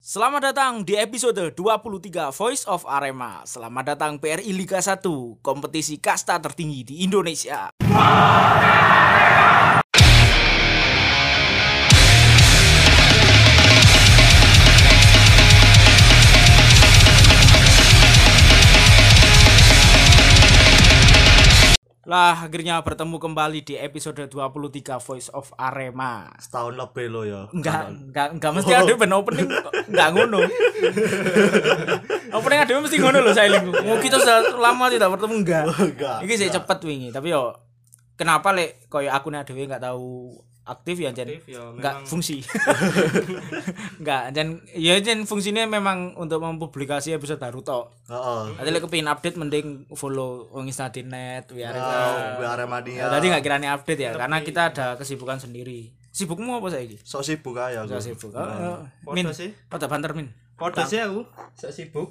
Selamat datang di episode 23 Voice of Arema. Selamat datang PRI Liga 1, kompetisi kasta tertinggi di Indonesia. Lah, akhirnya bertemu kembali di episode 23 Voice of Arema. Setahun lebih lo ya. Enggak mesti ada ben opening kok. Enggak ngono. Opening ada mesti ngono lho Sailing. Mau kita sudah lama tidak bertemu enggak. Iki sih cepet wingi, tapi yo kenapa lek koyo akune dhewe enggak tahu aktif ya jan enggak fungsi. Enggak jan ya jan fungsinya memang untuk mempublikasi episode baru tok. Heeh. Nanti lek kepengin update mending follow wong Instadinet, Aremania. Tadi enggak kirani update ya karena kita ada kesibukan sendiri. Sibukmu apa saiki? Sok sibuk aja Sok aku. sibuk. Min sih. pada banter min. Foto sih aku, sok sibuk.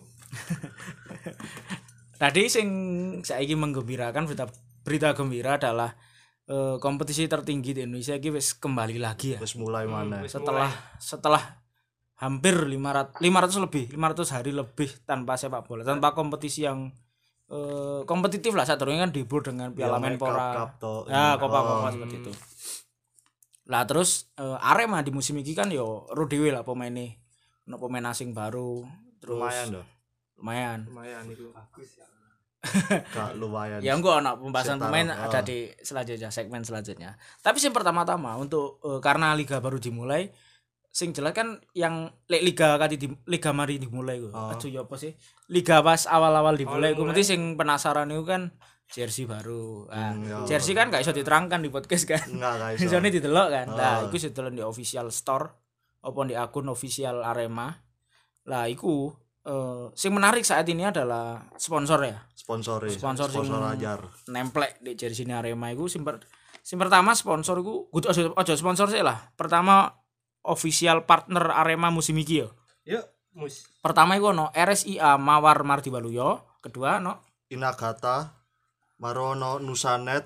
Tadi sing saiki menggembirakan berita gembira adalah kompetisi tertinggi di Indonesia iki wis kembali lagi ya. Wis mulai mana? Setelah hampir 500 hari lebih tanpa sepak bola, tanpa kompetisi yang kompetitif lah. Sadurunge kan dihibur dengan Piala Menpora. Ya, Copa seperti itu. Lah terus Arema di musim ini kan yo ro dhewe lah pemainnya. Ono pemain asing baru, terus lumayan Itu bagus ya. Gak lumayan. Ya enggak ono pembahasan pemain ada di selanjutnya, segmen selanjutnya. Tapi sing pertama-tama untuk karena liga baru dimulai, sing jelas kan yang liga mari dimulai ku. Aduh ya apa sih? Liga pas awal-awal dimulai ku mesti sing penasaran itu kan jersey baru. Jersey kan gak iso diterangkan di podcast kan. Enggak iso. Isone didelok kan. Nah, iku didelok di official store apa di akun official Arema. Lah iku sing menarik saat ini adalah sponsor ya. Sponsor ajar. Nemplek di jersey Arema iku sing pertama sponsor iku kudu aja sponsor sih lah. Pertama official partner Arema musim iki yo. Yuk, mus. Pertama iku ono RSIA Mawar Mardi Waluyo, kedua ono Inagata, Marono Nusanet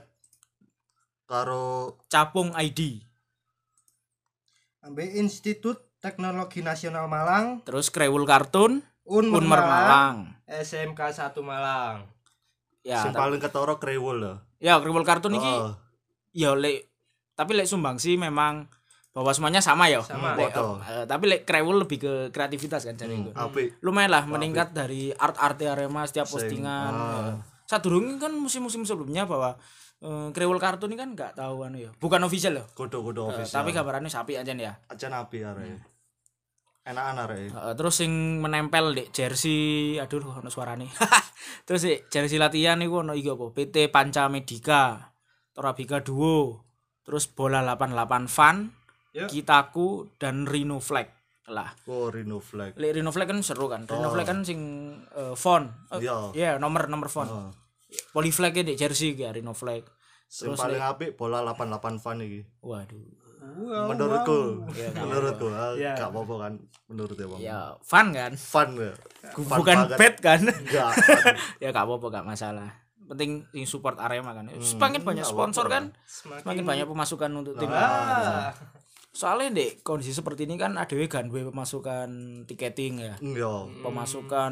karo Capung ID. Ambil Institut Teknologi Nasional Malang, Terus Krewul Kartun, Unmer Malang. SMK 1 Malang. Ya, sing paling ketara Krewul lho. ya Krewul Kartun iki ya tapi lek sumbangsi memang bahwa semuanya sama ya. Tapi lek Krewul lebih ke kreativitas kan jadi itu. Lumayan lah meningkat dari art Arema setiap postingan. Sadurunge kan musim-musim sebelumnya bahwa Krewul Kartun ini kan enggak tahu anu ya. Bukan official loh. Kudu official. Tapi gambarannya sapi aja ya. Aja nabi arek. Enakan arek. Terus sing menempel di jersey, aduh ono suarane. Terus jersey latihan niku ono iki apa? PT Panca Medika, Torabika Duo, terus Bola 88 Fun, Kitaku dan Rhino Flag. Lah. Oh, Rhino Flag. Rhino Flag kan seru kan. Rhino Flag kan sing font. Iya, nomor font. Poly flag di jersey ya Rhino Flag. Terus paling apik Bola 88 Fun iki. Waduh. Menurutku gak apa-apa kan menurut Bang. Ya fun kan. Fun ya. Bukan bad kan. Enggak. Ya gak apa-apa, gak masalah. Penting support Arema kan. Semakin banyak sponsor kan, semakin banyak pemasukan untuk tim. Soalnya dek kondisi seperti ini kan ADW kan pemasukan tiketing ya. Pemasukan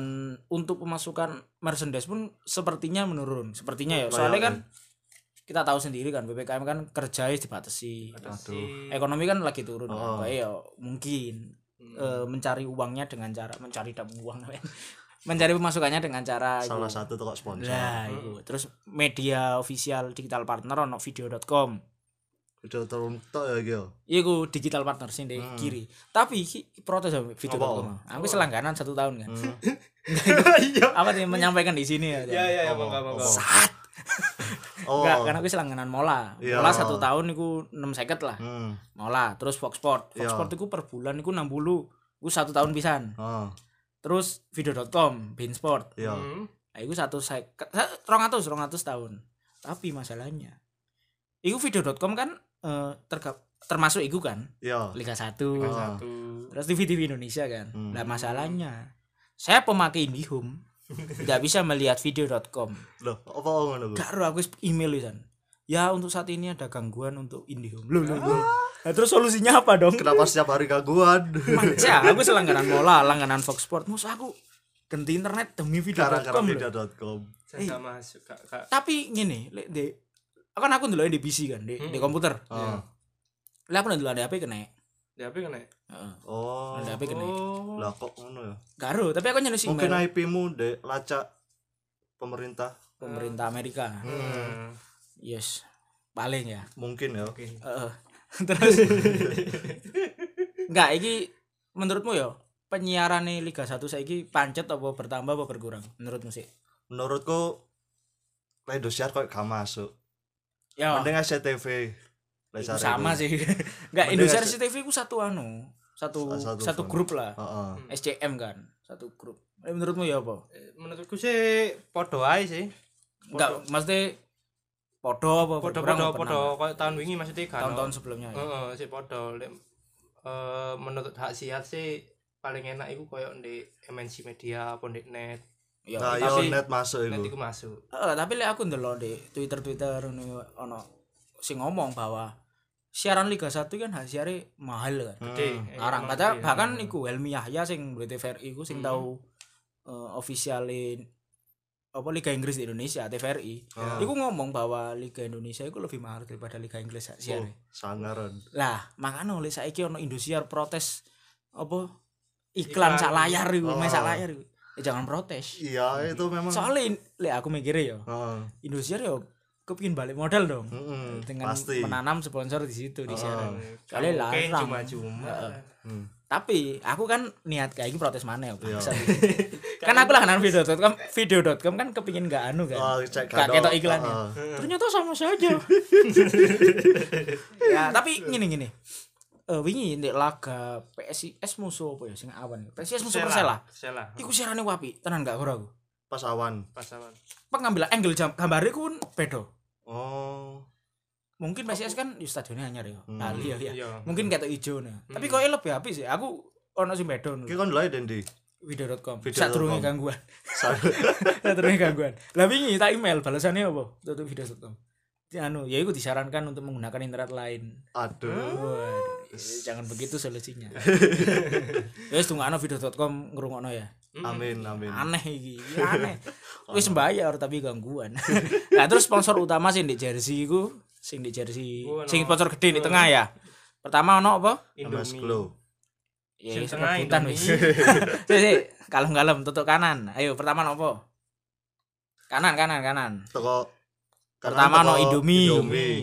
merchandise pun sepertinya menurun. Sepertinya ya. Soalnya kan kita tahu sendiri kan PPKM kan kerjanya dibatasi. Ekonomi kan lagi turun. Ya mungkin mencari uangnya dengan cara mencari uang. Mencari pemasukannya dengan cara salah satu toko sponsor. Nah, itu. Terus media official digital partner ono video.com. Video teruntuk ya gitu. Iku digital partner sing di kiri. Tapi protes video.com. Aku selangganan 1 tahun kan. Apa nih menyampaikan di sini ya. Ya, Saat. Enggak, karena aku selangganan Mola. Mola 1 tahun iku 6.50 lah. Mola, terus Fox Sport iku per bulan iku 60. Iku 1 tahun pisan. Terus video.com, Beansport. Nah, iku 200 tahun. Tapi masalahnya iku video.com kan termasuk iku kan? Liga 1. Terus TV Indonesia kan. Lah masalahnya saya pemakai IndiHome tidak bisa melihat video.com. Loh, apa ngono? Gak ero aku email isan. Ya untuk saat ini ada gangguan untuk IndiHome. Loh. Nah, terus solusinya apa dong? Kenapa setiap hari gangguan? Ya, aku selangganan Mola, langganan Fox Sport. Mus aku ganti internet demi video.com. Video.com. Saya enggak masuk, Kak. Tapi ngene, lek di kan aku ndelok di PC kan, di komputer. Heeh. Lah aku ndelok di HP kena. Di HP kena. Heeh. Oh. Di HP kena. Lah kok ngono ya? Karo, tapi aku nyelesi Mungkin IP-mu dek lacak pemerintah Amerika. Yes. Paling ya. mungkin ya. Heeh. Terus enggak iki menurutmu ya penyiaran Liga 1 saiki pancet apa bertambah apa berkurang menurutmu sih? Menurutku Indosiar kok gak masuk. Ya Mending SCTV. itu sama sih. Enggak Indosiar SCTV ku satu satu grup lah. SCM kan, satu grup. Menurutmu ya apa? Menurutku sih podo ae sih. Enggak, mesti podo apa? Podo kayak tahun wingi maksudnya kan. Tahun-tahun sebelumnya ya. Heeh, sih podo. Menurut hak siat sih paling enak iku koyo di MNC Media apa di net. Ya, nah, tapi net masuk Net itu. iku masuk. tapi lek aku ndelok di Twitter ono sing ngomong bahwa siaran Liga 1 kan hasilnya mahal kan. Gede. Larang kata bahkan iku Helmi Yahya sing TVRI iku sing tahu officialin apa Liga Inggris di Indonesia TVRI. Iku ngomong bahwa Liga Indonesia iku lebih mahal daripada Liga Inggris siare. Sangaran. Lah, makanya oleh saiki ono Indosiar protes apa iklan sak layar iku, sak layar iku. Ya jangan protes. Iya, itu memang. Soalnya lek aku mikirnya ya. Indosiar ya kepingin balik modal dong. Dengan pasti. menanam sponsor di situ di siaran. Kali larang. Cuma-cuma. Tapi aku kan niat kayak gini protes mana ya. Kan aku langganan video.com kan kepingin gak anu kan. Gak ketok iklannya. Ternyata sama saja. Ya, tapi gini. Wingi ndek laga PSIS musuh apa ya sing awan. PSIS musuh Persela. Iku siarane wapi, tenan gak ora aku. Pas awan. Pengambil angle gambare ku beda. Oh. Mungkin PSIS kan di stadionnya anyar ya. Bali ya. Mungkin ketok ijo nah. Tapi kok lebih apik sih. Aku ono sing beda. Ki kon lha Dendi. Video.com. Sadurunge gangguan. Sadurunge gangguan. Lah wingi tak email balasannya apa? Tutup video.com. Anu, ya iku disarankan untuk menggunakan internet lain. Aduh. Jangan begitu solusinya. Ya wis tunggu video.com ngrungokno ya. Amin. Aneh iki, aneh. Wis bayar tapi gangguan. Nah, terus sponsor utama sing di jersey iku, sing sponsor gede di tengah ya. Pertama ono apa? Indomie Glow. Ya sebutan wis. Sik, kalem-kalem tutuk kanan. Ayo pertama ono apa? Kanan. Teko pertama ono Indomie.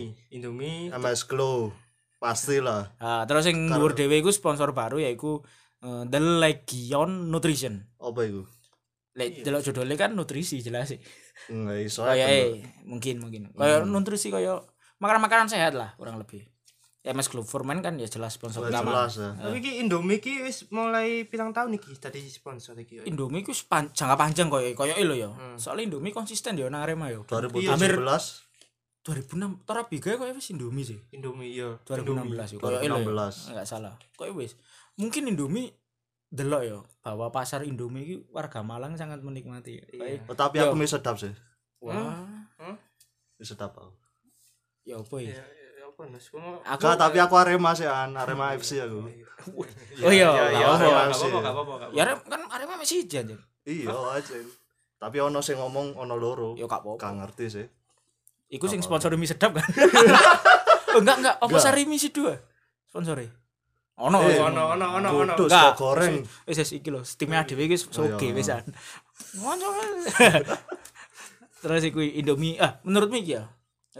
MS Glow. Pastilah. Terus sing dhuwur dhewe iku sponsor baru yaiku The Legion Nutrition. Apa iku? Lek delok judulnya kan nutrisi jelas sih. Enggak iso. Mungkin. Kayak nutrisi kayak makanan-makanan sehat lah kurang lebih. MS Glow Forman kan ya jelas sponsor utama. Jelas ya. Tapi iki Indomie iki wis mulai pirang tahun iki tadi sponsor iki. Indomie iku jangka panjang koyo lho ya. Soalnya Indomie konsisten ya nang Arema ya. 2017 2006 Torabiga kok wis Indomie sih. Indomie iya. 2016 koyo enggak salah. Koyo wis. Mungkin Indomie delok ya bahwa pasar Indomie iki warga Malang sangat menikmati. Tapi aku mie sedap sih. Wah. Mie sedap aku. Ya apa ya? Aku tapi aku Arema sih, Arema FC aku. Oh iya, enggak apa-apa. Ya kan Arema masih jan. Iya aja. Tapi ono sing ngomong ono loro. Ya gak apa-apa. Gak ngerti sih. Iku sing sponsor mie sedap kan? Oh enggak. Apa Sari mie dua sponsore? Ono. Enggak goreng. Wis iki lho, time dhewe iki soge wisan. Ngono. Terus iku Indomie. Menurutmu iki ya?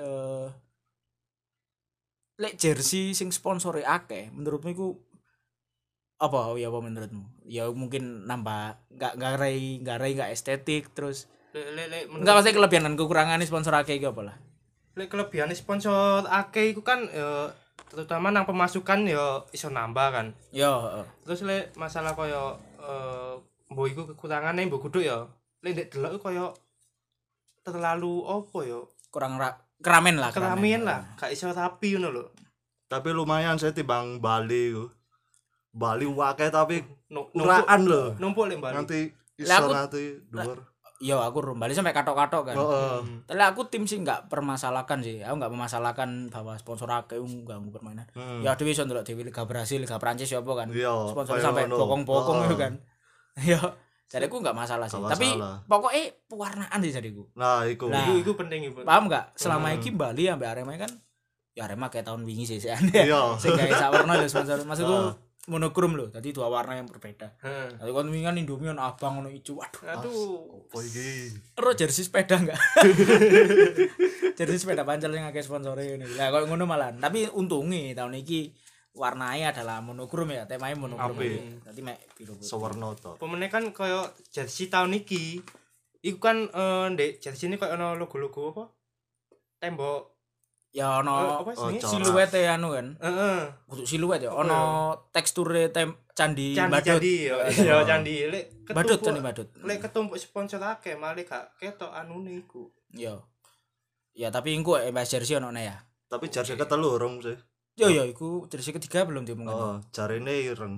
Lek jersey sing sponsore akeh, menurutmu iku apa menurutmu? Ya mungkin nambah enggak estetik terus enggak pasti kelebihan dan kekurangan sponsor akeh iki apa lah? Lek kelebihan sponsor akeh iku kan terutama nang pemasukan ya iso nambah kan. Ya, Terus lek masalah koyo mbok iku kekurangane mbok kudu ya. Lek ndek delok koyo terlalu apa ya? Kurang keramen lah. Gak iso rapi ngono lho. Tapi lumayan saya timbang Bali ku. Bali wakai tapi uraan lho. Numpuk lek Bali. Nanti iso nanti dhuwur. Iya, aku Bali sampai katok-katok kan. Tapi aku tim sih enggak permasalahkan sih. Aku enggak memasalahkan bahwa sponsor akeh ganggu permainan. Ya dhewe iso ndelok dhewe Liga Brasil, Liga Prancis ya apa kan. Sponsor sampai bokong-bokong itu kan. Ya, jadiku enggak masalah sih. Tapi pokoknya pewarnaan sih jadiku. Nah, iku penting iku. Paham enggak? Selama iki Bali ambek Arema kan ya Arema kayak tahun wingi sih aneh. Sing gawe sak warna lho sponsor. Maksudku monokrom lho, tadi 2 warna yang berbeda. Tapi kon wingi kan Indomie ono abang ono ijo. Aduh. Apa iki? Ero jersey sepeda enggak? Jersey sepeda pancel yang akeh sponsore ngene. Lah kok ngono malah. Tapi untunge tahun iki warnanya adalah monokrom ya, temanya monokrom. Dadi mek biru putih. Sewarna to. Pemene kan koyo jersey tahun iki. Iku kan ndek jersey ini koyo ono logo-logo apa? Tembok ya ono siluet anu kan. Kudu siluet ya. Ono teksture candi Badut. Ya candi lek Badut candi Badut. Lek ketumpuk sponsor akeh malah gak ketok anune iku. Yo. Ya tapi engko Mbak jersey ono ya. Tapi jersey ketelu urung sih. Yo iku jersey ketiga belum diomongin. Oh, jarine ireng.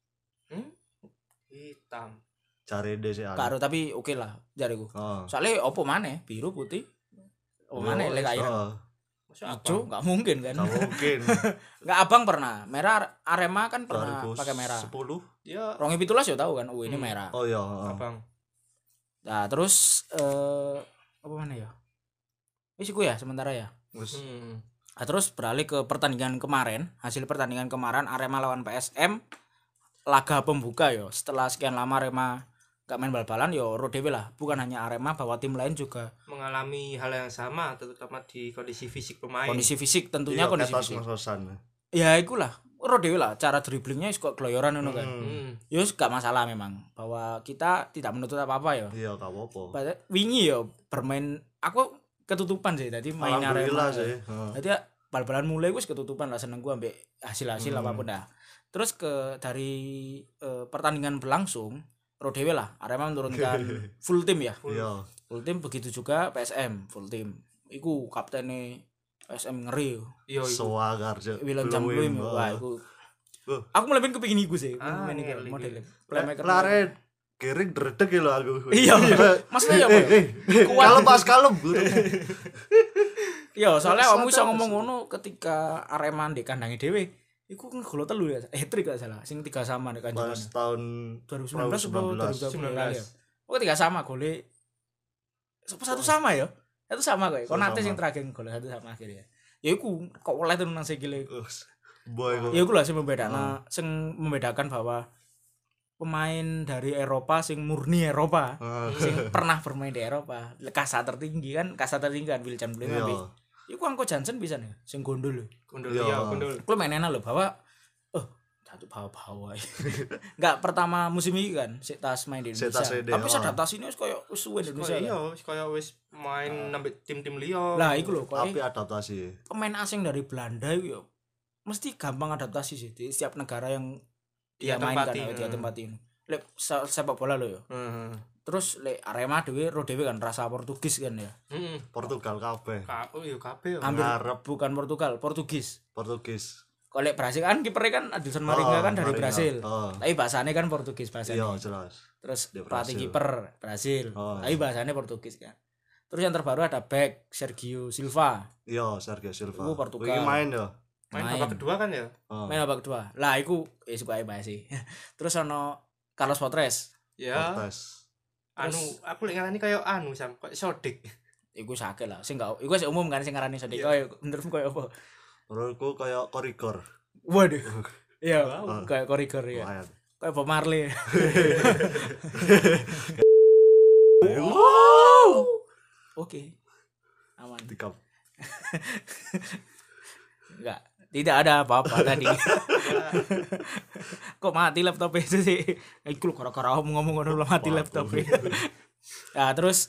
Hitam. Jarine sih. Karo tapi oke lah jariku. Soale opo maneh biru putih. Opo maneh lek ireng. Ijo enggak mungkin kan. Enggak mungkin. Enggak abang pernah. Merah Arema kan pernah pakai merah. 10. Ya. 2017 ya tahu kan. Oh ini merah. Oh iya, abang. Nah, terus apa mana ya? Wis iku ya sementara ya. Wis. Nah, terus beralih ke pertandingan kemarin. Hasil pertandingan kemarin Arema lawan PSM laga pembuka ya. Setelah sekian lama Arema gak main bal-balan ya ro dhewe lah. Bukan hanya Arema, bahwa tim lain juga mengalami hal yang sama, terutama di kondisi fisik pemain. Kondisi fisik tentunya kondisi fisik. Ya ikulah. Ro dhewe lah cara dribblingnya kok gloyoran ngono kan. Ya gak masalah memang bahwa kita tidak menuntut apa-apa ya. Iya, gak apa-apa. Wingi ya bermain aku ketutupan sih tadi main Arema. Jadi bal-balan mulai wis ketutupan lah, seneng gua ambek hasil-hasil apapun dah. Terus dari pertandingan berlangsung ro dhewe lah Arema menurunkan full tim ya. Iya. Full tim, begitu juga PSM full tim. Iku kaptene PSM ngeri yo. Iya iku. Soagar je. Wilan Jambluim. Wah iku. Aku mulai kepengin iku sih. Main iki model. Playmaker. Laren kering dredeg lho aku. Iya. Maksudnya apa? Kalem pas kalem. Iya, soalnya kamu bisa ngomong ngono ketika Arema ndek kandange dhewe. Iku kan gol telu ya, hat-trick gak salah, sing 3 sama nek kanjeng. Pas tahun 2019 atau 2019 ya. Oh 3 sama gole. Satu sama ya? Itu sama kok. Kok nanti sing terakhir gol 1 sama akhirnya. Ya iku kok oleh tenan nang sikile. Boy. Ya iku lah sing membedakan bahwa pemain dari Eropa sing murni Eropa, sing pernah bermain di Eropa, kasta tertinggi kan Wilcan Blem. Iku Angko Jansen bisa nih, sing gondol. Gondol. Kuwi mainena lho bahwa satu bawa-bawa. Enggak pertama musim ini kan, sik tas main di Indonesia. Tapi adaptasinya wis koyo wis suwe di Indonesia. Iya, wis koyo wis main nambah tim-tim liya. Lah iku lho tapi adaptasi. Pemain asing dari Belanda iku yo mesti gampang adaptasi sih di setiap negara yang dia mainkan dia tempatin. Lek sepak bola lho yo. Terus lek Arema dhewe kan rasa Portugis kan ya. Portugal kabeh. Oh iya kabeh. Hampir bukan Portugis. Kalau lek Brasil kan kipernya kan Adilson Maringa kan dari Brasil. Tapi bahasanya kan Portugis bahasanya. Iya, jelas. Terus pelatih kiper Brasil. Tapi bahasanya Portugis kan. Terus yang terbaru ada back Sergio Silva. Iya, Sergio Silva. Itu Portugal. Ini main ya. Main babak kedua kan ya? Main babak kedua. Lah iku suka bahas sih. Terus ono Carlos Potres. Ya. Aku lek ngarani kaya sam koyo Sodik. Iku sakit lah. Sing gak iku umum kan sing ngarani Sodik. Koyo menurutmu koyo apa? Menurutku kaya korigor. Waduh. Iya, kayak korigor ya. Kayak Bob Marley. Wow. Oke. Aman. Dikap. Enggak, tidak ada apa-apa tadi. Kok mati laptop itu sih? Iku gara-gara ngomong ngono mati laptop. Nah, terus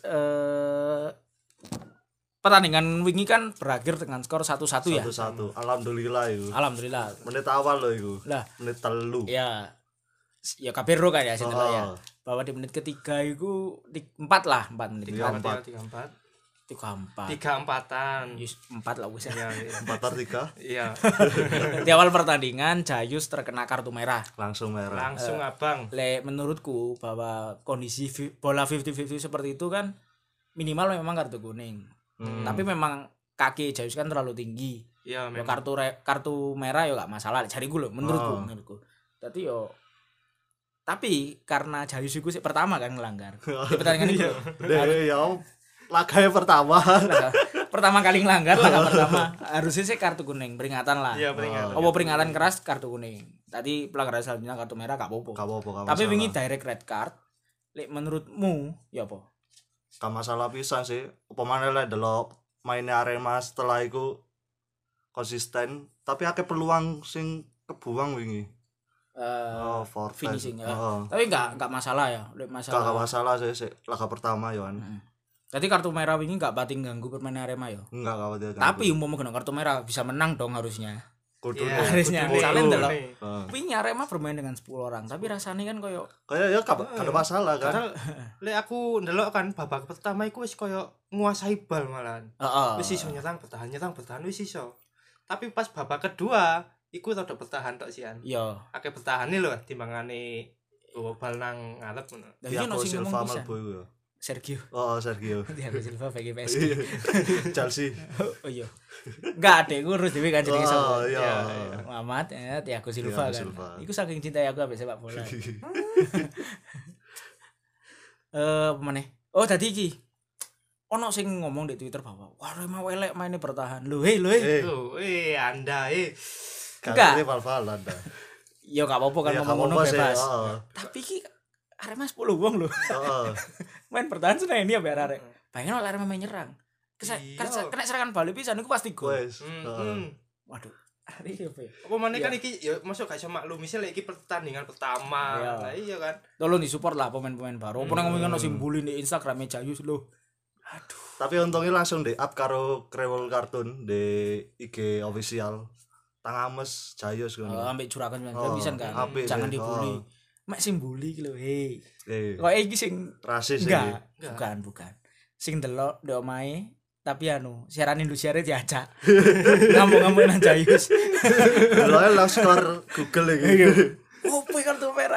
pertandingan wingi kan berakhir dengan skor 1-1 ya. 1-1. Alhamdulillah itu. Alhamdulillah. Menit awal loh itu. Lah, menit 3. Ya kabeh kan ya sinten ya. Bahwa di menit ketiga itu 4 menit. 3-4. 3-4-an. Yes, 4 lah wis. Iya. 4-3. Iya. Di awal pertandingan Jayus terkena kartu merah. Langsung merah. Langsung abang. Menurutku bahwa kondisi bola 50-50 seperti itu kan minimal memang kartu kuning. Tapi memang kaki Jayus kan terlalu tinggi. Iya, memang. Kartu merah ya gak masalah cariku lho menurutku. Tapi karena Jayus iku sih pertama kan ngelanggar. Di pertandingan itu. Laga pertama. Pertama kali ngelanggar laga pertama. Harusnya sih kartu kuning, peringatan lah. Iya, peringatan. Peringatan keras kartu kuning. Tadi pelanggaran selanjutnya kartu merah gak apa-apa. Tapi wingi direct red card. Lek menurutmu ya apa? Gak masalah pisan sih. Pemain lek delok mainnya Arema setelah itu konsisten, tapi akeh peluang sing kebuang wingi. Finishing ya. Tapi enggak masalah ya. Enggak masalah sih laga pertama ya kan. Jadi kartu merah wingi enggak batin ganggu permainan Arema ya. Enggak batin. Tapi umpama kena kartu merah bisa menang dong harusnya. Harusnya. Misalnya ndelok wingi Arema bermain dengan 10 orang, tapi rasanya kan koyo ya gak ada masalah kan. Lek aku ndelok kan babak pertama iku wis koyo nguasai bal malahan. Wis iso nyerang bertahan wis iso. Tapi pas babak kedua iku rada bertahan tok sian. Iya. Akeh bertahane lho timbangane bal nang ngarep ngono. Iya no sing ngomong bisa. Sergio. Sergio. Thiago Silva bagi PSG. Chelsea. Oh iya. Enggak ada ngurus dhewe kan jenenge sapa. Iya. Muhammad Thiago Silva kan. Iku saking cinta aku ambek sepak bola. Pemane? Oh tadi iki. Ono sing ngomong di Twitter bahwa wah Rema welek mainnya bertahan. Loh, Anda. Enggak. Ini fal-fal Anda. Ya gak apa-apa kan ngomong ngono bebas. Tapi iki Arema 10 wong lho. Main bertahan seneng ini ya biar arek. Bayangin oleh Arema main nyerang. Kena serangan balik pisan iku pasti gol. Waduh. Iya apa ya? Apa maneh kan iki ya masuk gak iso maklum misal iki pertandingan pertama. Lah iya kan. Tolong disupport lah pemain-pemain baru. Apa nang ngomongin ono simbol di Instagram Jayus lho. Aduh. Tapi untungnya langsung di up karo Krewel Cartoon di IG official. Tangames Jayus ngono. Ambek juragan pisan kan. Jangan dibully. Mek sing bully iki lho, Kok iki sing rasis iki? Bukan. Sing delok ndek omahe tapi siaran Indosiar diajak. Ngomong-ngomong nang Jayus. Delok langsung Google iki. Opo kartu merah.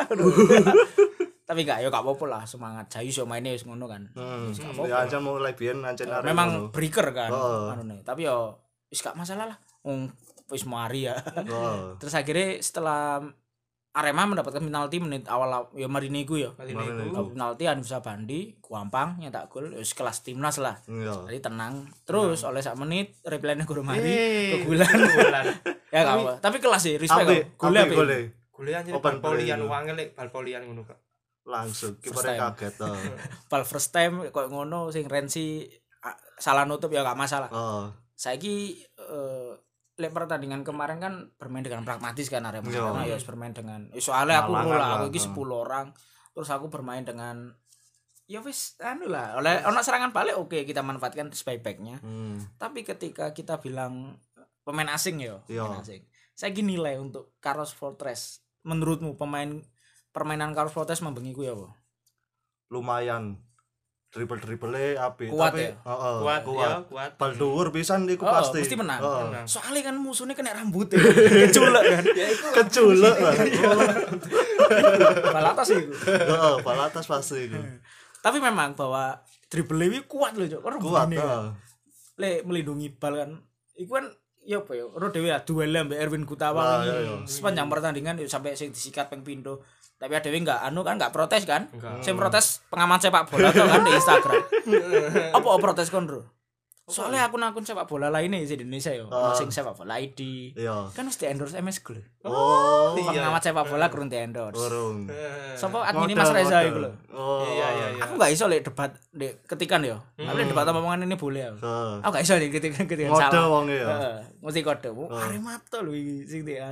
Tapi enggak apa-apa lah, semangat Jayus yo maine wis ngono kan. Ya aja mulai biyen ancen arek. Memang breaker kan tapi yo wis gak masalah lah. Wis mari ya. Terus akhirnya setelah Arema mendapatkan penalti menit awal ya Mariniku ya. Penalti Anissa Bandi, gampang nyetak gol, wis kelas timnas lah. Jadi tenang. Terus oleh sak menit replaynya guru mari kegulan. Ya gak apa. Tapi kelas sih, respect. Gole anjir bal-polian wangel lek bal-polian ngono kok. Langsung kiper kaget to. Bal first time kok ngono sing Renzi salah nutup ya gak masalah. Saiki lek pertandingan kemarin kan bermain dengan pragmatis kan Arema. Karena ya bermain dengan soalnya aku iki 10 orang. Terus aku bermain dengan ya wis lah. Oleh ono serangan balik oke, kita manfaatkan sebaik-baiknya. Tapi ketika kita bilang pemain asing pemain asing. Saya gini nilai untuk Carlos Fortes. Menurutmu permainan Carlos Fortes membengiku ya apa? Lumayan. Dribble apik tapi kuat. Bal dhuwur pisan iku pasti menang. Soalnya kan musuhnya kena rambut keculek kan. Ya iku keculek lah. Bal atas iku. Bal atas pasti iku. Tapi memang bahwa dribble iki kuat lho, Cok. Kuat. Lek melindungi bal kan iku kan ya apa ya, ora dhewe duel ambek Erwin Gutawa sepanjang pertandingan sampai sing disikat ping pindho. Tapi dhewe enggak protes kan? Sing protes pengamat sepak bola tuh kan di Instagram. Apa protes kon, Bro? Soalnya akun-akun sepak bola lainnya di Indonesia sing sepak bola ID. Kan mesti endorse MS Gol. Pengamat sepak bola kurang di endorse. Sapa admin Mas Reza iku lho. Iya. Aku enggak iso lek debat ketikan ya. Tapi debat omongan ini boleh aku. Aku enggak iso lek ketikan salah. Kode wong ya. Mesti kode. Arema to lho iki sing di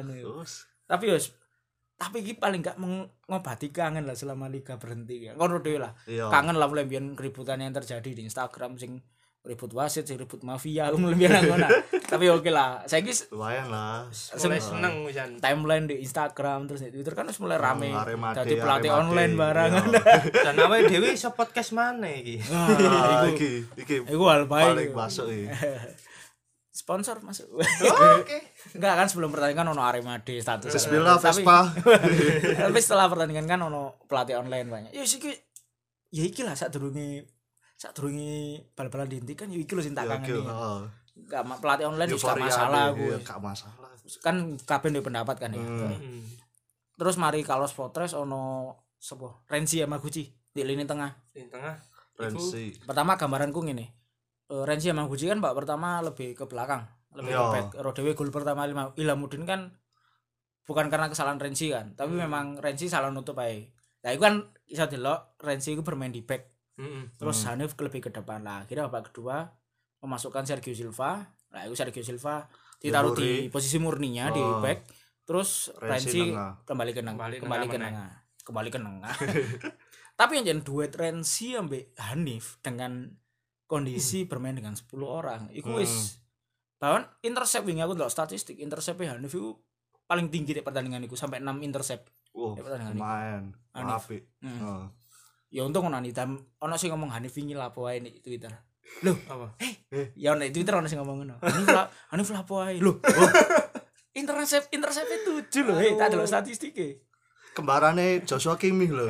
Tapi iki paling gak mengobati kangen lah selama liga berhenti ya. Ngono dhewe lah. Kangen lah mulai biyen keributan yang terjadi di Instagram sing ribut wasit sih, ribut mafia aku lebih ngono. Tapi oke lah, saiki lumayan lah. Mulai seneng jan. Timeline di Instagram terus di Twitter kan wis mulai rame. Dadi pelatih online barang. Dan awake dhewe iso podcast maneh iki. Iki hal baik. Paling masuk iki. Sponsor masuk. Oke. Enggak kan sebelum pertandingan ono Arema di status. Bismillah Vespa. Tapi setelah pertandingan kan ono pelatih online banyak. Ya iki ya iki lah sadurunge bal-balan dihentikan ya iki lho sing tak kangeni. Enggak pelatih online wis gak masalah gue. Gak masalah. Kan kabeh ndek pendapat kan ya. Terus mari Carlos Potres ono sapa? Renzi Yamaguchi di lini tengah. Lini tengah. Renzi. Pertama gambaranku ngene. Renzi Yamaguchi kan babak pertama lebih ke belakang, lebih ke back. Rodewe gol pertama Ilamuddin kan bukan karena kesalahan Renzi kan, tapi memang Renzi salah nutup ae. Nah, itu kan iso delok Renzi itu bermain di back. Terus Hanif lebih ke depan lah. Akhirnya babak kedua memasukkan Sergio Silva. Nah, itu Sergio Silva ditaruh di posisi murninya di back. Terus Renzi kembali ke tengah. Tapi yang jadi duet Renzi ambek Hanif dengan kondisi bermain dengan 10 orang iku wis bahkan intercept wingi aku ndelok statistik intercept Hanif iku paling tinggi di pertandingan iku sampai 6 intercept. Lumayan. Apik. Ya untung ono ono sing ngomong Hanif wingi lapo ae ning Twitter. Loh, apa? Ya ning Twitter ono sing ngomong ngono. Hanif lapo ae. Loh. Intercept 7 lho, tak delok statistike. Kembarane Joshua Kimmich lho.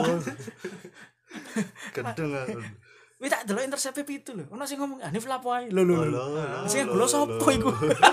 Gendeng. Wis tak delok intercept 7 lho. Ono sing ngomong Hanif lapo ae. Lho. Sing golo sapa iku?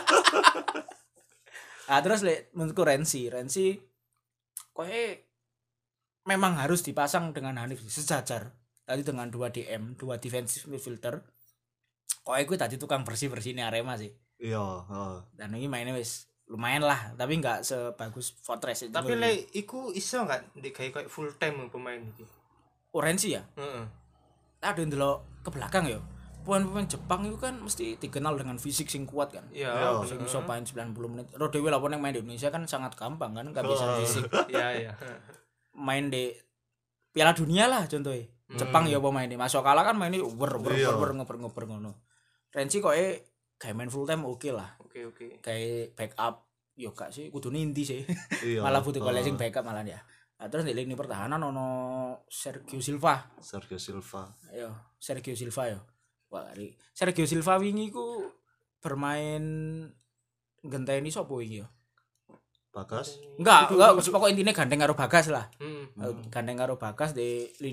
Terus menurutku Renzi koe memang harus dipasang dengan Hanif sejajar. Tadi dengan 2 DM, 2 defensive midfielder. Koe kuwi tadi tukang bersih-bersihne Arema sih. Iya, Dan ini mainnya wis lumayan lah, tapi enggak sebagus Fortress itu. Tapi iku iso enggak digawe koyo full time pemain iki. Renzi ya? Heeh. Ada ndelok ke belakang ya. Pemain-pemain Jepang itu kan mesti dikenal dengan fisik sing kuat kan. Iya, sing iso main 90 menit. Rodewe lawan yang main di Indonesia kan sangat gampang kan, enggak bisa fisik. Iya. Main di Piala Dunia lah contohnya. Jepang ya pemain masuk kalah kan mainnya ngoper ngono. Renzi kok kayak main full time oke lah. Oke. Kayak backup yo gak sih kudu inti sih. Iya. Malah butuh golek sing backup malah ya. Nah, terus di lini pertahanan ono Sergio Silva. Yo, Sergio Silva yo. Wah, Sergio Silva wingi ku bermain genteni sapa wingi yo? Bagas? Enggak, pokok intinya gandeng karo Bagas lah. Gandeng karo Bagas di lini.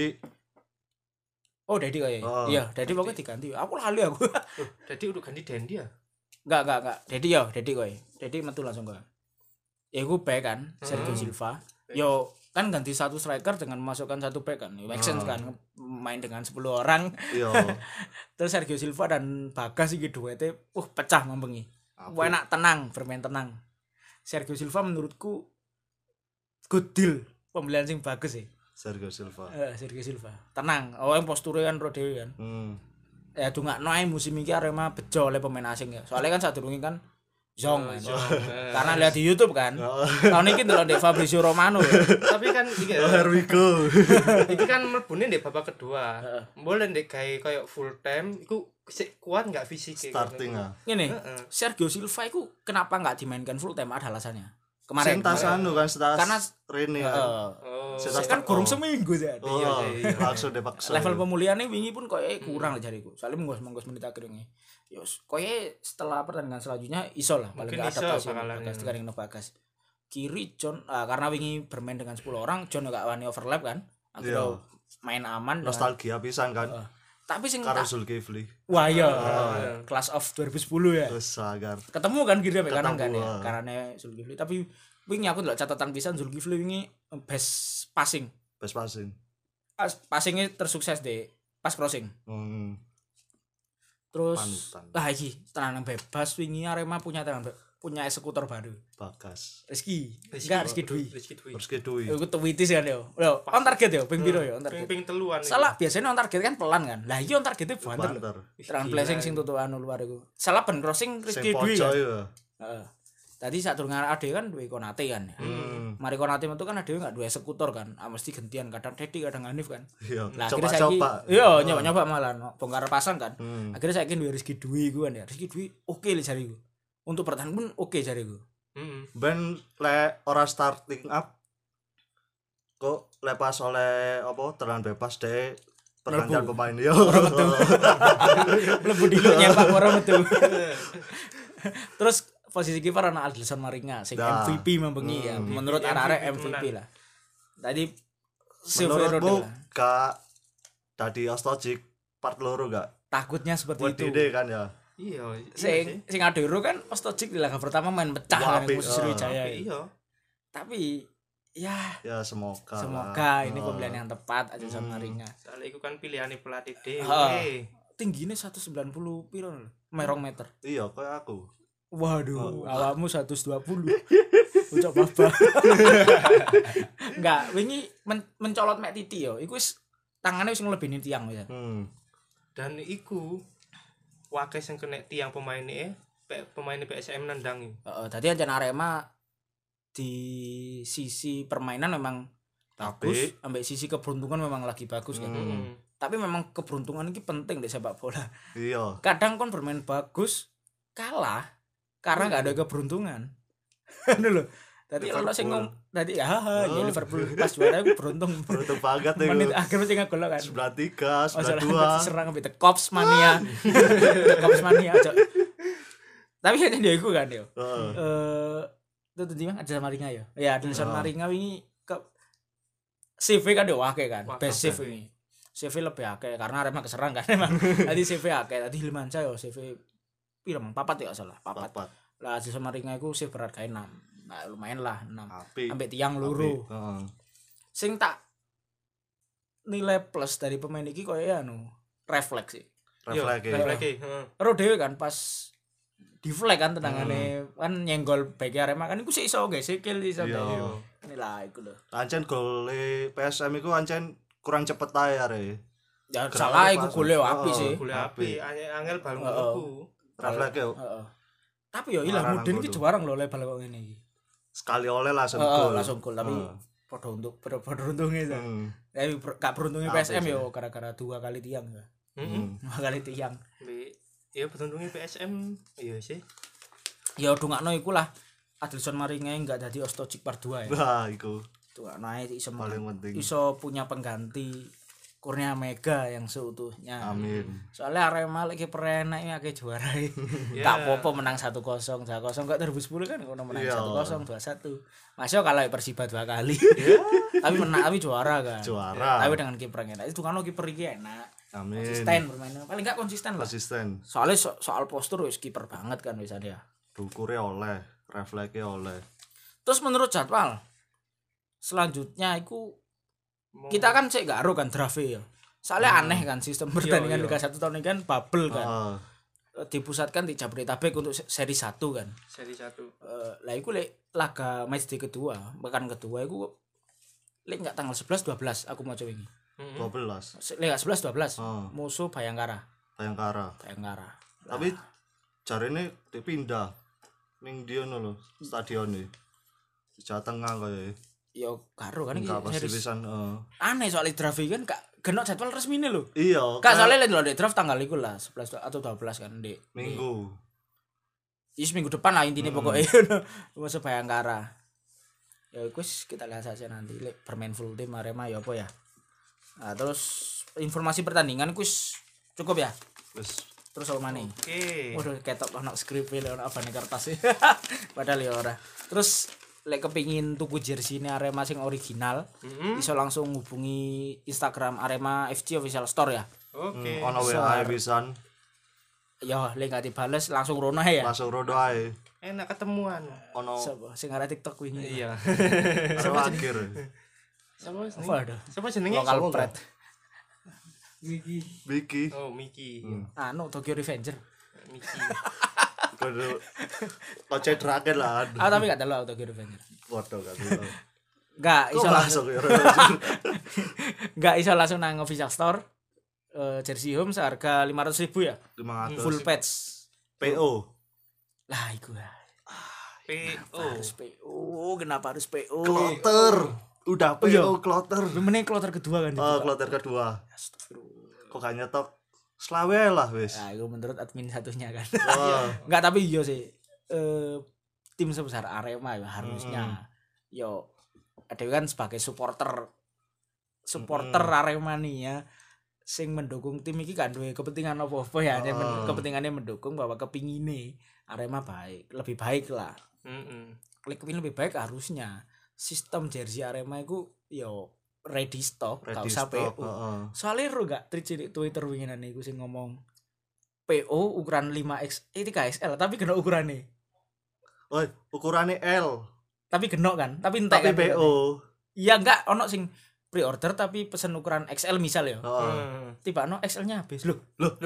Dedi kaya. Iya, Dedi pokoknya diganti. Aku lali aku. Dedi udah ganti Dendi ya? Enggak. Dedi kaya. Dedi metu langsung kaya. Ya iku back kan, Sergio Silva. Yo kan ganti satu striker dengan memasukkan satu back kan. Make sense kan main dengan 10 orang. Iya. Terus Sergio Silva dan Bagas iki duete pecah mambengi. Enak tenang, bermain tenang. Sergio Silva menurutku good deal pembelian sing bagus sih. Sergio Silva. Tenang. Yang posture kan Rodewe kan. Ya dungakno ae musim iki Arema bejo oleh pemain asing ya. Soalnya kan sadurunge kan Zong kan. Karena lihat di YouTube kan. Tahun ini ndelok ndek Fabrizio Romano ya. Tapi kan iki here we go. Iki kan mlebune ndek babak kedua. Boleh ndek gawe koyo full time iku sik kuat enggak fisik starting ah. Ngene. Sergio Silva iku kenapa enggak dimainkan full time ada alasannya. Kemarin karena Rene kan kurang seminggu ya. Iya. Langsung dipaksa. Level pemulihannya wingi pun koyo kurang lah jariku. Soalnya monggo menit akhirnya. Yos, koyo setelah pertandingan selanjutnya iso lah paling enggak adaptasi Bagas dikandeng Bagas. Kiri John karena wingi bermain dengan 10 orang, John enggak wani overlap kan. Akhirnya main aman nostalgia pisan kan. Tapi sing karo Zulkifli. Wah iya, Class of 2010 ya. Wes agar. Ketemu kan kiri sampai kanan kan ya. Karena Zulkifli tapi wingi aku ndelok catatan pisan Zulkifli wingi best passing. Passingnya tersukses deh pas crossing. Terus iki tendangan bebas wingi Arema punya eksekutor baru. Bagas. Rizky Dwi. Iku tweetis kan yo. Lho, on target yo, ping piro yo on target. Ping 3-an. Salah biasanya on target kan pelan kan. Lah iki on targete banter. Serangan flashing sing tutukan luar iku. Salah ben crossing Rizky Dwi. Heeh. Tadi saat durung ade kan duwe Konate kan. Mari Konate metu kan ade enggak duwe eksekutor kan. Mesti gantian kadang Dedi kadang Hanif kan. Iya. Lah akhirnya saiki iya nyoba-nyoba malah bongkar pasang kan. Akhirnya saiki duwe Rizky Dwi iku kan ya. Rizky Dwi oke le jariku. Untuk bertahan pun oke jariku. Ben le ora starting up kok lepas oleh apa terang bebas deh pergantian pemain yo ora metu. Mlebu dulu nyepak ora metu. Terus posisi kiper ana Adilson Maringa sing MVP membengi ya. Menurut arek-arek MVP lah. Tadi menurutmu gak tadi Ostojic part loro gak? Takutnya seperti itu. Ide kan ya. Iya. Sing Adero kan Ostojic di laga pertama main pecah kan Sriwijaya. Iya. Tapi ya semoga ini pemilihan yang tepat aja sama Maringa. Soalnya itu kan pilihan pelatih dhewe. Tingginya 190 piro merong meter. Iya kayak aku. Waduh, awakmu 120. Ucap apa? Enggak, wingi mencolot mek titi yo. Iku wis tangane wis nglebihin tiang ya. Dan iku wae sing kena tiang pemaine PSM nandangi. Heeh, dadi ancen Arema di sisi permainan memang bagus, ambek sisi keberuntungan memang lagi bagus kan. Tapi memang keberuntungan ini penting di sepak bola. Iya. Kadang kon bermain bagus kalah karena enggak ada keberuntungan. Ngono lho. Dadi ono sing dadi ya Liverpool pas juara aku beruntung banget iku. Menit akhir mesti ngegol kan. 93, 92. Serang ambek Cops Mania. Cops Mania aja. Tapi kan dia iku kan yo. Itu tadi mah Adilson Maringa ya. Ya Adilson Maringa wingi ke CV kan yo akeh kan. Best CV ini. CV lebih akeh karena Arema keserang kan emang. Tadi CV akeh, tadi Hilmansyah yo CV piro mang 4 ya salah, 4. Lah Adilson Maringa iku CV berat kae 6. Nah, lumayan lah 6. Ambek tiang loro. Sing tak nilai plus dari pemain iki koyo anu, refleks sih. Refleks. Ro dhewe kan pas di flag kan tendangane kan nyenggol bek Arema kan iku sik iso guys sikil iso guys. Ini lah iku lho. Ancen gole PSM iku ancen kurang cepet ae are. Ya salah iku gole apik sih. Gole apik, angel bal mlebu. Refleks yo. Tapi yo ilang muden iki juara lho le bal kok ngene iki. Sekali oleh langsung gol. Langsung gol tapi padha untungnya ta. Tapi gak beruntungnya PSM yo gara-gara 2 kali tiang ya. 2 kali tiang. Ya beruntungnya PSM iya sih. Ya dongakno iku lah Adilson Maringa enggak dadi Ostojic part 2 ya. Wah, iku. Tuh naik iso paling penting. Iso punya pengganti Kurnia Mega yang seutuhnya. Amin. Soalnya Arema lagi perenak ya ke juara. Gak apa-apa menang 1-0, 2-0 enggak 2010 kan ngono menang 1-0, 2-1. Masih kalah Persiba 2 kali. Tapi menang tapi juara kan. Juara. Tapi dengan kiper enak. Itu kan kiper iki enak. Amin. Konsisten bermainnya. Paling enggak konsisten lah. Konsisten. Soalnya soal postur wis kiper banget kan wis dia. Dukure oleh, refleksnya oleh. Terus menurut jadwal selanjutnya itu kita kan cek gak ero kan draft ya. Soalnya aneh kan sistem pertandingan Liga 1 tahun ini kan bubble kan. Dipusatkan di Jabodetabek untuk seri 1 kan. Seri 1. Lah iku lek laga match day kedua, pekan kedua iku lek enggak tanggal 11 12 aku mau coba ini. 12. Lek 11 12. Musuh Bayangkara. Tapi jarene dipindah ning ndi ono lho stadion iki. Di Jawa Tengah koyo. Ya karo kan iki series. Aneh soal draft kan gak genok jadwal resmine lho. Iya. Gak soalnya lek di draft tanggal iku lah 11 atau 12 kan Dik. Minggu. Is minggu depan lah intinya pokoknya musuh Bayangkara. Ya wis kita lihat saja nanti lek bermain full tim Arema ya apa ya. Nah, terus informasi pertandingan kuis cukup ya? Wis. Terus apa maneh? Oke. Waduh ketok ono skrip e ono abane kertas e. Padahal ya ora. Terus lek kepingin tuku jersey ini Arema sing original, iso langsung hubungi Instagram Arema FC Official Store ya. Oke. Ono WA pisan. Ya, lek gak dibales langsung rono ae ya. Langsung rono ae. Enak ketemuan. Ono sing arek TikTok wingi. Iya. Akhir. Siapa jenenge? Lokal Pret. Miki. Oh, Miki. Anu Tokyo Revenger. Miki. Kudu kocek draken lah. Tapi gak telo Tokyo Revenger. Waduh gak telo. Gak iso langsung. Gak iso langsung nang official store. Jersey home seharga 500.000 ya. 500. Full patch. PO. Lah iku. Harus PO. Kenapa harus PO? Kloter. Udah PO kloter. Mending kloter kedua kan. Kloter kedua. Kok gak nyetok selawe lah wis. Nah, itu menurut admin satunya kan. Enggak, tapi iya sih. Tim sebesar Arema ya harusnya. Yo ada kan sebagai supporter Aremania sing mendukung tim iki kan duwe kepentingan apa-apa ya. Kepentingannya mendukung bahwa kepingine Arema lebih baik lah. Kepingin lebih baik harusnya sistem jersey Arema itu yo ready stock, gak usah PO. Soalnya ro gak tweet Twitter winginan iku sing ngomong PO ukuran 5X 3XL tapi kena ukurannya. Oh, ukurannya L. Tapi genok kan, tapi entek kan PO. Iya enggak ono sing pre-order tapi pesen ukuran XL misal ya. Tiba ono XL-nya habis. Loh.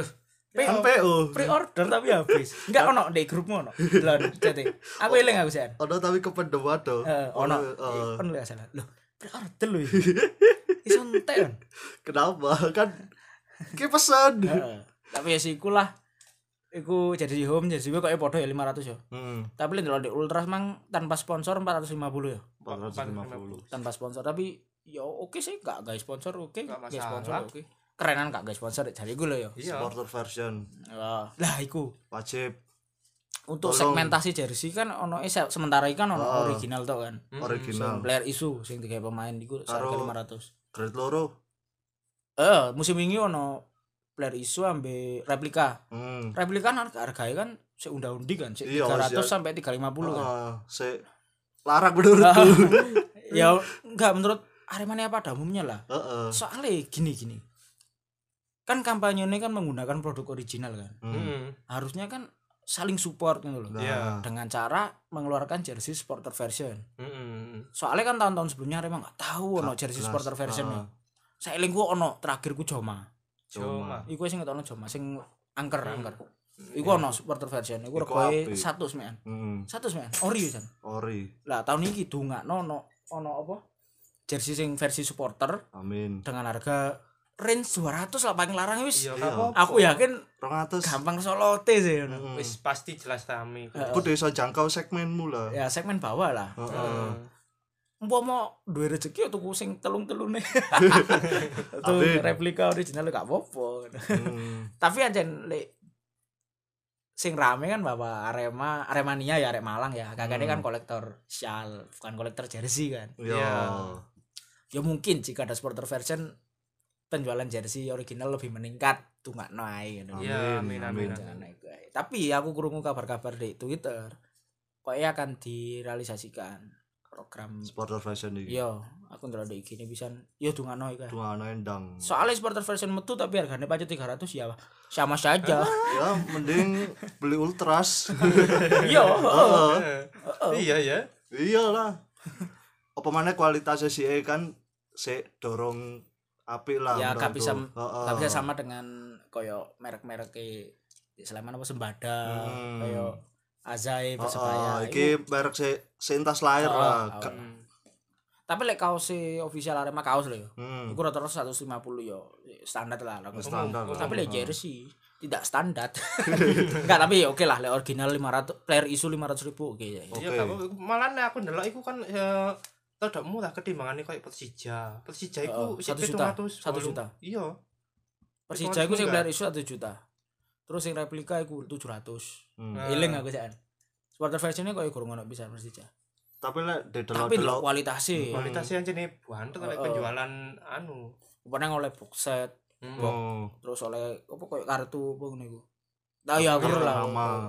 PO. Pre-order tapi habis. Enggak ono di grupmu ono. Lho, cete. Aku eling aku sen. Ono tapi kependem waduh. Ono. Kon lek salah. Loh, pre-order lho. Iso entek kan. Kenapa? Kan ki pesan. Tapi ya sih lah. Iku jadi home jadi gue kok podo ya 500 ya. Tapi lho di Ultras mang tanpa sponsor 450 ya. 450. Tanpa sponsor tapi ya oke sih enggak guys sponsor oke. Guys sponsor oke. Kerenan enggak guys sponsor jadi gue lo ya. Supporter version. Lah iku wajib. Untuk segmentasi jersey kan ono sementara ikan ono original to kan. Original. Player isu sing digawe pemain iku harga 500. Grade loro. Musim wingi ono player isu ambe replika. Replika kan harganya kan seunda-undi kan, 300 sampai 350 kan. Larang menurutku. Ya enggak menurut Aremania pada umumnya lah. Soalnya gini. Kan kampanyenya kan menggunakan produk original kan. Harusnya kan saling support gitu loh. Dengan cara mengeluarkan jersey supporter version. Soalnya kan tahun-tahun sebelumnya Arema enggak tahu ono jersey supporter version. Saya eling gua ono terakhir ku Joma. Iku sing ngetokno Joma sing angker. Iku ono supporter version. Iku regoe 100 men. 100 men. Ori kan. Ori. Lah tahun iki dungakno ono apa? Jersey sing versi supporter. Amin. Dengan harga range 200 lah paling larang wis. Aku yakin 200 gampang solote sih. Wis pasti jelas rame. Kudu iso jangkau segmenmu lah. Ya segmen bawah lah. Umpama duwe rezeki tuku sing telung-telune. Tuh replika original gak apa-apa. Tapi anjen lek sing rame kan bahwa Aremania ya Arek Malang ya. Kakaknya kan kolektor shawl, bukan kolektor jersey kan. Iya. Ya mungkin jika ada supporter version penjualan jersey original lebih meningkat tuh nggak naik gitu. Iya, amin. Tapi aku krungu kabar-kabar di Twitter kayaknya akan direalisasikan program supporter version iki. Iya, aku ndelok di IG-ne pisan. Ya dungano iki. Dungano endang. Soalnya supporter version metu tapi harganya pajak 300 ya sama saja. Ya, mending beli Ultras. Iya, Iya ya. Iyalah. Apa mana kualitasnya sih kan dorong apik lah. Ya gak bisa sama dengan koyo merek-merek di Sleman apa Sembada, koyo Azai Persebaya. Iki merek sentas lahir lah. Tapi lek kaos official Arema kaos lho. Iku rata-rata 150 yo standar lah. Standar. Tapi lek jersey tidak standar. Enggak, tapi oke lah lek original 500, player isu 500.000 oke ya. Iya, malah aku ndelok iku kan tidak murah ketimbangannya kayak Persija. Persija iku 1 juta. Iya. Persija iku sing player isu 1 juta. Terus yang replika iku 700. Eling aku jan. Supporter versionnya kok kurang ono bisa Persija. Tapi lek tapi kualitasnya anjene banter lek penjualan anu. Pernah oleh box set. Terus oleh apa koyo kartu apa ngono iku. Lah ya aku lah.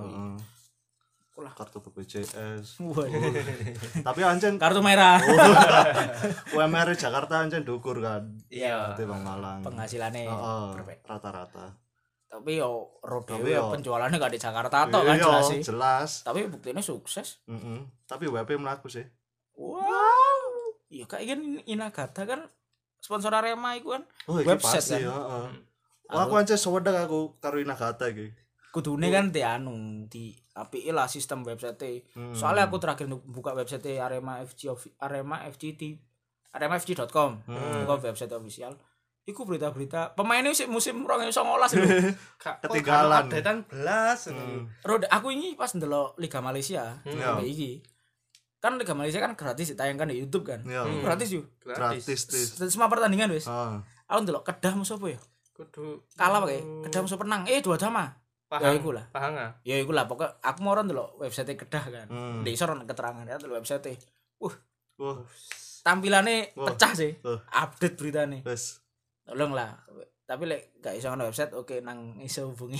Kartu BPJS. Tapi anjen kartu merah. UMR Jakarta anjen dukur kan. Iya. Di Bang Malang. Penghasilannya rata-rata. Tapi yo Rodeo penjualannya gak di Jakarta toh kan jelas sih. Jelas. Tapi buktinya sukses. Tapi WP melaku sih. Wow. Iya kayak Inagata kan sponsor Arema iku kan. Website kan. Aku aja sewedeng aku karo Inagata iki. Kudune kan di apike lah sistem website. Soalnya aku terakhir buka website Arema FG Arema FGT aremafg.com. Buka website official. iku berita-berita pemainnya sih musim 2019 lho. Ketinggalan. Updatean belas. Rod aku ini pas ndelok Liga Malaysia, iki. Kan Liga Malaysia kan gratis ditayangkan di YouTube kan. Gratis yo. Gratis. Semua pertandingan wis. Aku ndelok Kedah musuh apa ya? Kudu Kalah pakai. Kedah musuh penang. 2 sama. Ya iku lah. Pahang. Ya iku lah pokok aku mau ndelok website Kedah kan. Di isor keterangan ya ndelok website. Tampilannya pecah sih. Update beritane. Wes. Tolong lah. Tapi lek gak iso ngono website oke nang iso hubungi.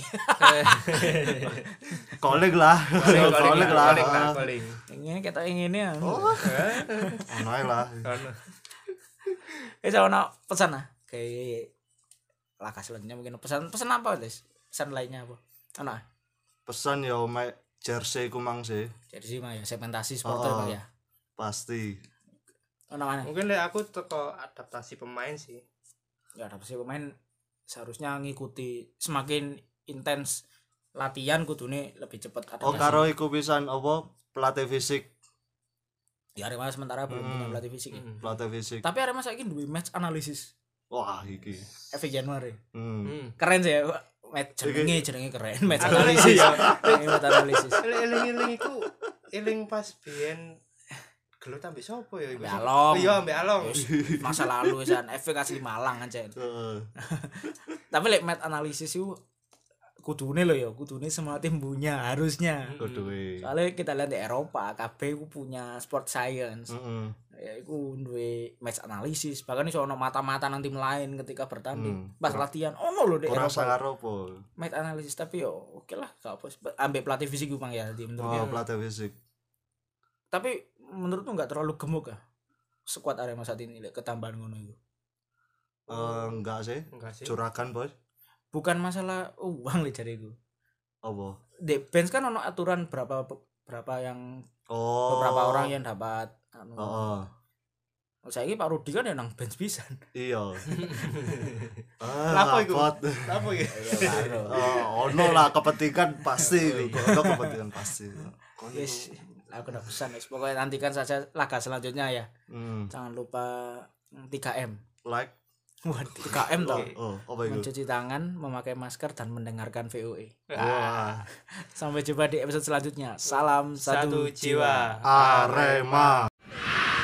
Calling lah. Calling. Ini kita ingin ya. Ono ae lah. Ono pesan ah. Kayak Laka selanjutnya mungkin pesan apa guys? Pesan lainnya apa? Ono. Pesan ya jersey ku mang sih. Jersey mah ya segmentasi supporter Pak ya. Pasti. Ono mana? Mungkin lek aku teko adaptasi pemain sih. Ya adaptasi pemain seharusnya ngikuti semakin intens latihan kudune lebih cepat adaptasi. Karo iku pisan apa pelatih fisik. Ya Arema sementara belum punya pelatih fisik. Pelatih fisik. Tapi Arema saiki duwe match analisis. Wah, iki. Efek Januari. Keren sih ya. Match jenenge keren. Match analisis. Match analisis. Eling iku eling pas biyen gelut ambek sapa ya iku? Along. Iya, ambek Along. Masa lalu san efek asli Malang aja. Tapi lek match analisis itu kudune lho ya, kudune semua tim punya harusnya. Kuduwe. Soalnya kita lihat di Eropa, KB ku punya sport science. Ya iku duwe match analisis, bahkan iso ono mata-mata nang tim lain ketika bertanding. Pas latihan ono lho di Eropa. Ora Eropa. saropo. Match analisis tapi yo oke lah, gak apa. Ambek pelatih fisik ku Bang ya, menurutku. Pelatih fisik. Tapi menurutmu enggak terlalu gemuk kah? Skuad Arema saat ini ketambahan ngono itu. Enggak sih. Curagan, Bos. Bukan masalah uang le jariku. Apa? Di bench kan ono aturan berapa yang beberapa orang yang dapat Saiki Pak Rudi kan ya nang bench pisan. Iya. Lapo iku? Lapo iki? Ono lah kepentingan pasti. Ono kepentingan pasti. Yes, aku udah pesan guys. Pokoknya nantikan saja laga selanjutnya ya. Jangan lupa 3M. Like. Wah, 3M toh. Apa itu? Mencuci tangan, memakai masker dan mendengarkan VOE. Wah. Sampai jumpa di episode selanjutnya. Salam satu jiwa. Arema.